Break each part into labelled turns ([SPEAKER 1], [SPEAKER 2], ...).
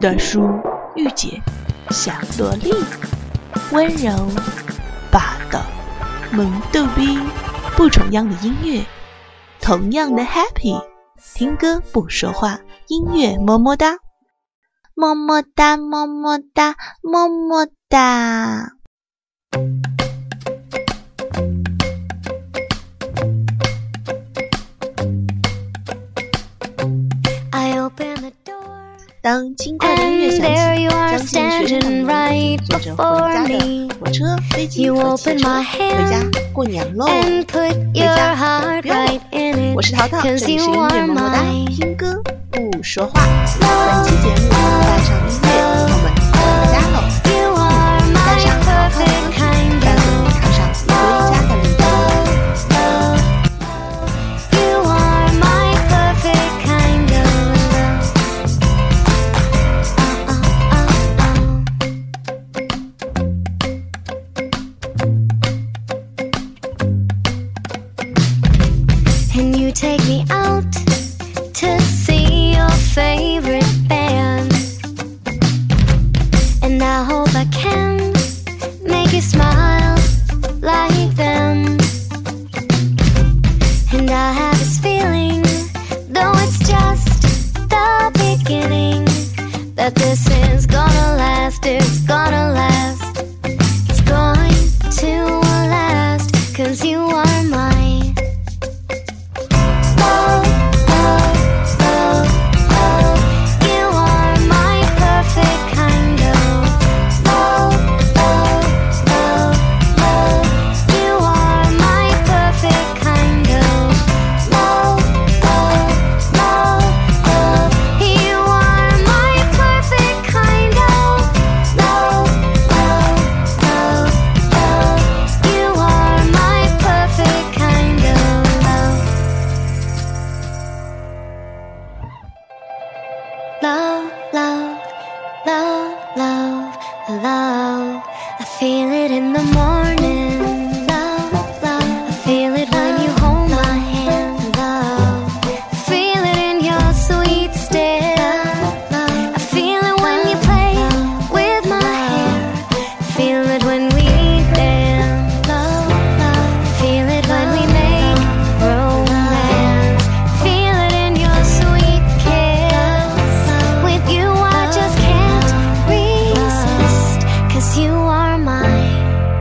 [SPEAKER 1] 的书御姐小萝莉，温柔霸道萌逗逼，不重样的音乐，同样的 happy， 听歌不说话，音乐么么哒，么么哒么么哒么么哒。当轻快的音乐响起，将近学生党人坐着回家的火车、飞机和汽车回家过年喽！回家不要了，我是淘淘，这里是音乐么么哒，听歌不说话。本期节目带上音乐，我们回家喽！带上好听的歌曲，带你踏上回家的旅途。
[SPEAKER 2] Take me out to see your favorite band, and I hope I can make you smile like them. And I have this feeling, though it's just the beginning, that this is gonna last, it's gonna last, it's going to last, 'cause you are mine. Love, love, love, love, love. I feel it in the morning. Love, love. I feel it when you hold my hand. Love. I feel it in your sweet stare. Love. I feel it when you play with my hair. I feel it when we dance. Love, love. I feel it when we make romance. I feel it in your sweet kiss. With you I just can't resist, 'cause you are mine.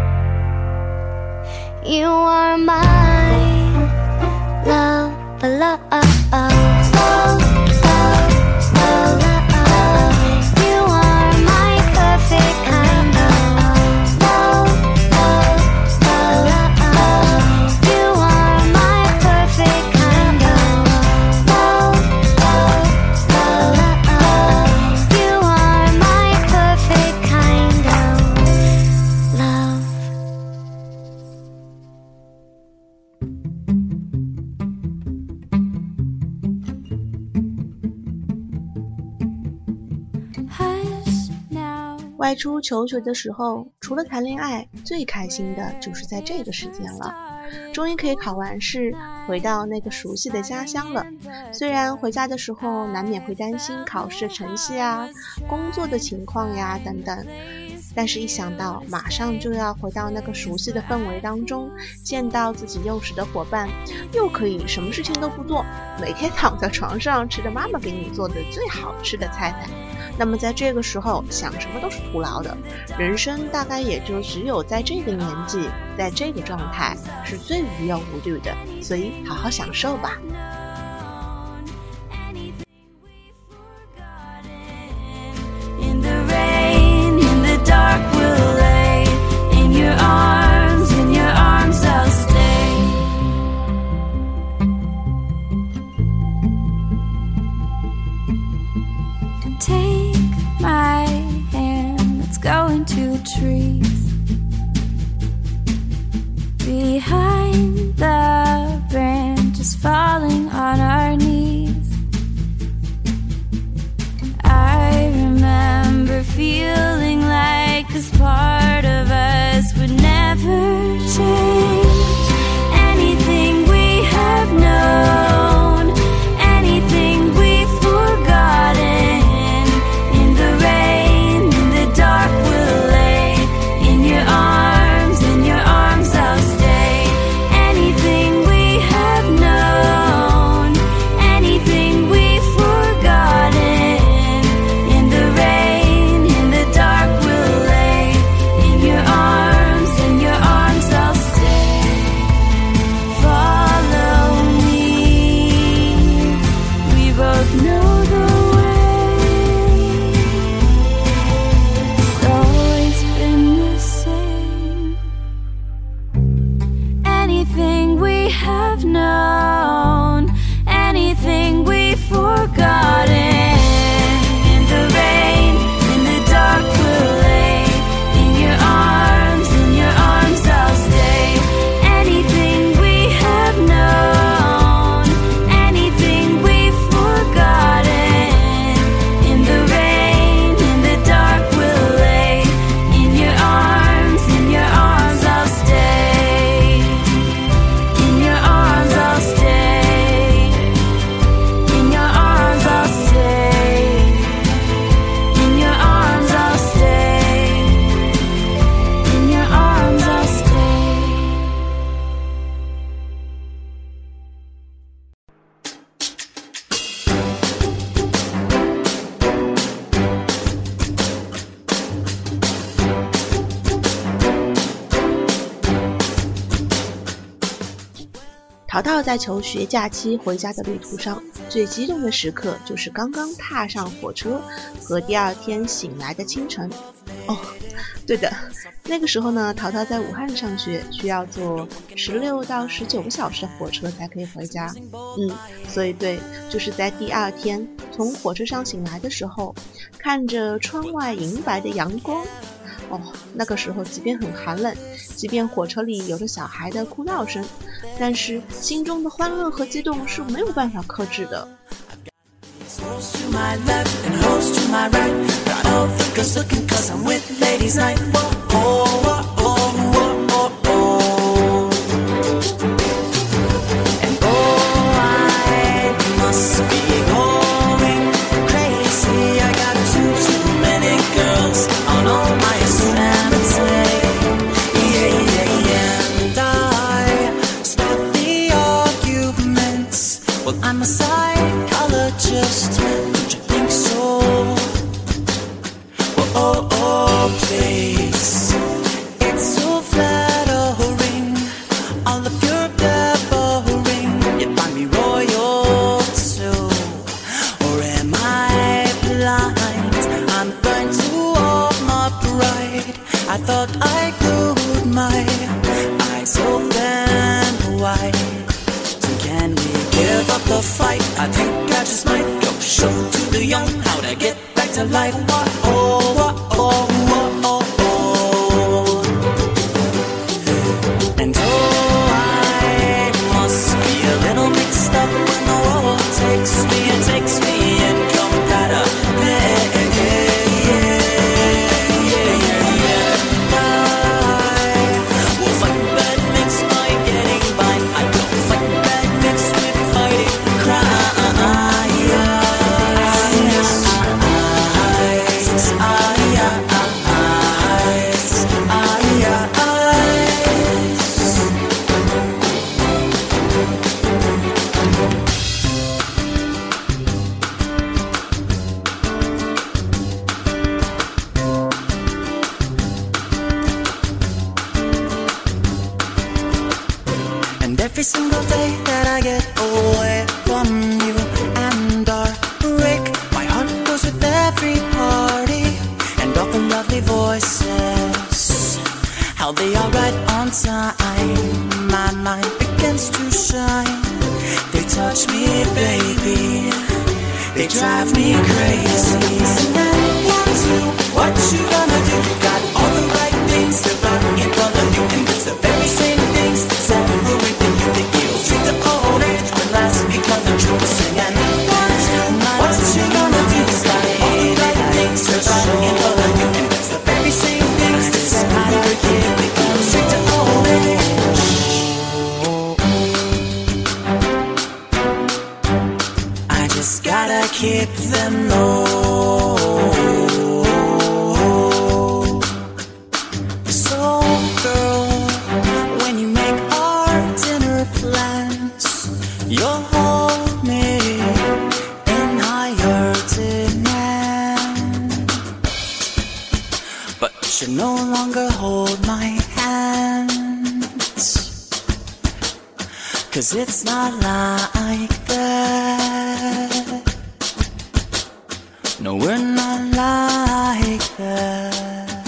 [SPEAKER 2] You are mine. Love, love, love, love, love, love. You are my perfect kind of love, love, love, love. You are my perfect kind of love, love, love, love. You are my perfect kind of love. Hush now.
[SPEAKER 1] 外出求学的时候，除了谈恋爱，最开心的就是在这个时间了。终于可以考完试，回到那个熟悉的家乡了。虽然回家的时候难免会担心考试的成绩啊、工作的情况呀等等，但是一想到马上就要回到那个熟悉的氛围当中，见到自己幼时的伙伴，又可以什么事情都不做，每天躺在床上吃着妈妈给你做的最好吃的菜，那么在这个时候想什么都是徒劳的，人生大概也就只有在这个年纪，在这个状态是最无忧无虑的，所以好好享受吧。
[SPEAKER 2] Trees behind the branches falling on our knees. I remember feeling like this part of us would never change. Anything we have known, anything we've forgotten, in the
[SPEAKER 1] 淘淘在求学假期回家的旅途上，最激动的时刻就是刚刚踏上火车和第二天醒来的清晨。哦，对的，那个时候呢，淘淘在武汉上学，需要坐16到19个小时的火车才可以回家。所以对，就是在第二天从火车上醒来的时候，看着窗外银白的阳光。那个时候即便很寒冷，即便火车里有着小孩的哭闹声，但是心中的欢乐和激动是没有办法克制的。
[SPEAKER 2] I'm a psychologist, don't you think so? Please. It's so flattering, all of your blabbering. You find me royal too, or am I blind? I'm blind to all my pride. I thought I glued my eyes open wide. Can we give up the fight? I think I just might go show to the young how to get back to life. And I must be a little mixed up when the world takes me and compatible. Every single day that I get away from you and our break, my heart goes with every party and all the lovely voices, how they are right on time. My mind begins to shine. They touch me, baby. They drive me crazy. Sing one, two, what you gonna do? Got all the right things to right in front of you, and it's the very same things that separate the you that you treat the old age when last become the truth. Singing one, two, what you gonna do? Got all the right things to right in front of you, and it's the very same things that separate you that you treat the old age. I just gotta keep them low. So, girl, when you make our dinner plans, you'll hold me in higher demand. But you no longer hold my hands, 'cause it's not like that. No, we're not like that.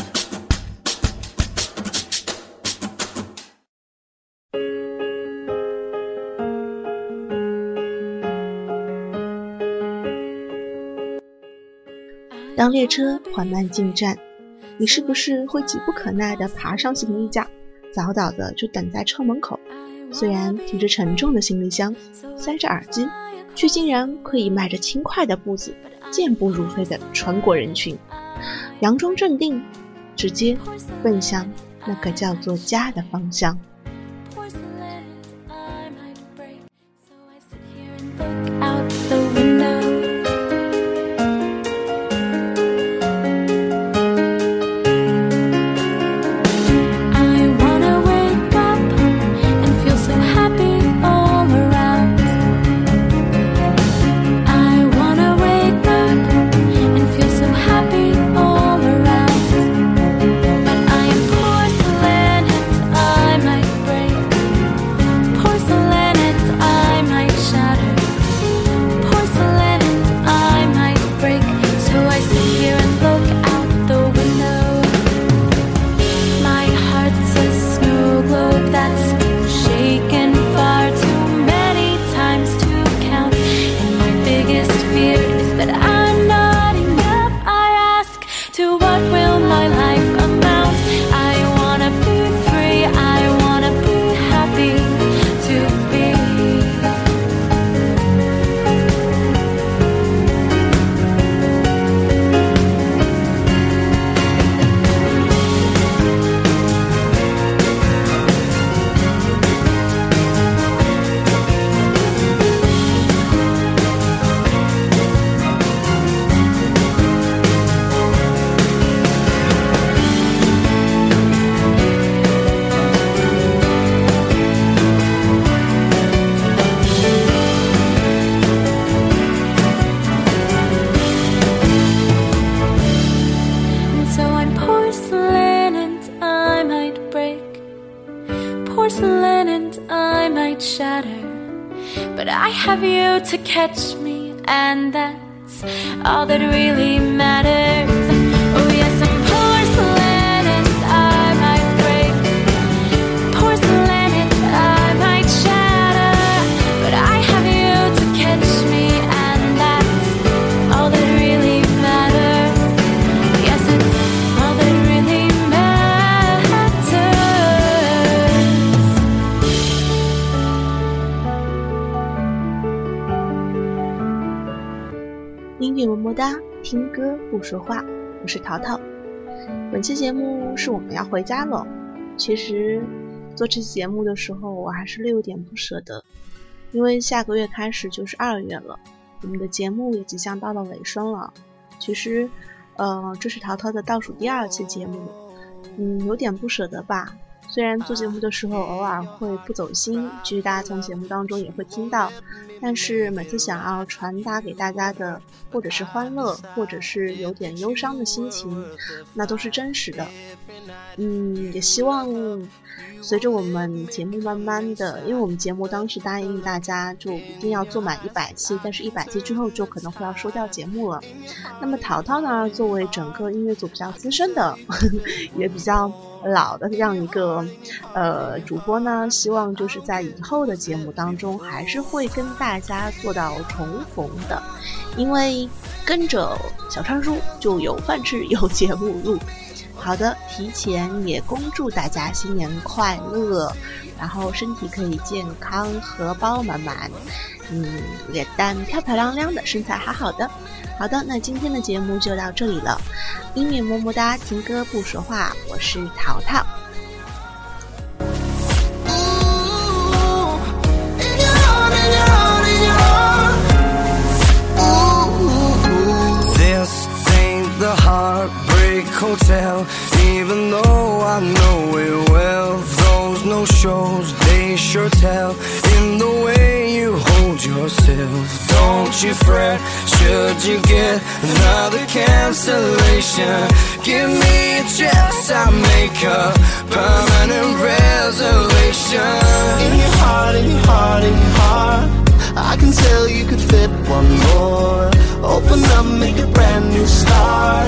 [SPEAKER 1] 当列车缓慢进站，你是不是会急不可耐地爬上行李架，早早的就等在车门口？虽然提着沉重的行李箱，塞着耳机，却竟然可以迈着轻快的步子，健步如飞地穿过人群，佯装镇定，直接奔向那个叫做家的方向。
[SPEAKER 2] I but I have you to catch me, and that's all that really matters. Oh yes, I'm porcelain and I might break, porcelain and I might shatter, but I have you to catch me, and that's all that really matters. Yes, it's all that really matters.
[SPEAKER 1] 音乐么么哒，听歌不说话，我是淘淘。本期节目是我们要回家了。其实做这期节目的时候，我还是略有点不舍得，因为下个月开始就是2月了，我们的节目也即将到了尾声了。其实，这是淘淘的倒数第2期节目，有点不舍得吧。虽然做节目的时候偶尔会不走心，其实大家从节目当中也会听到，但是每次想要传达给大家的，或者是欢乐，或者是有点忧伤的心情，那都是真实的。也希望随着我们节目慢慢的，因为我们节目当时答应大家就一定要做满100期，但是100期之后就可能会要收掉节目了。那么淘淘呢，作为整个音乐组比较资深的也比较老的这样一个主播呢，希望就是在以后的节目当中还是会跟大家做到重逢的，因为跟着小川叔就有饭吃有节目录。好的，提前也恭祝大家新年快乐，然后身体可以健康，荷包满满，脸蛋漂漂亮亮的，身材好好的。好的，那今天的节目就到这里了。音乐么么哒，听歌不说话，我是淘淘。
[SPEAKER 3] Hotel, even though I know it well, those no shows, they sure tell in the way you hold yourself. Don't you fret, should you get another cancellation, give me a chance, I'll make a permanent reservation. In your heart, in your heart, in your heart, I can tell you could fit one more. Open up, make a brand new start.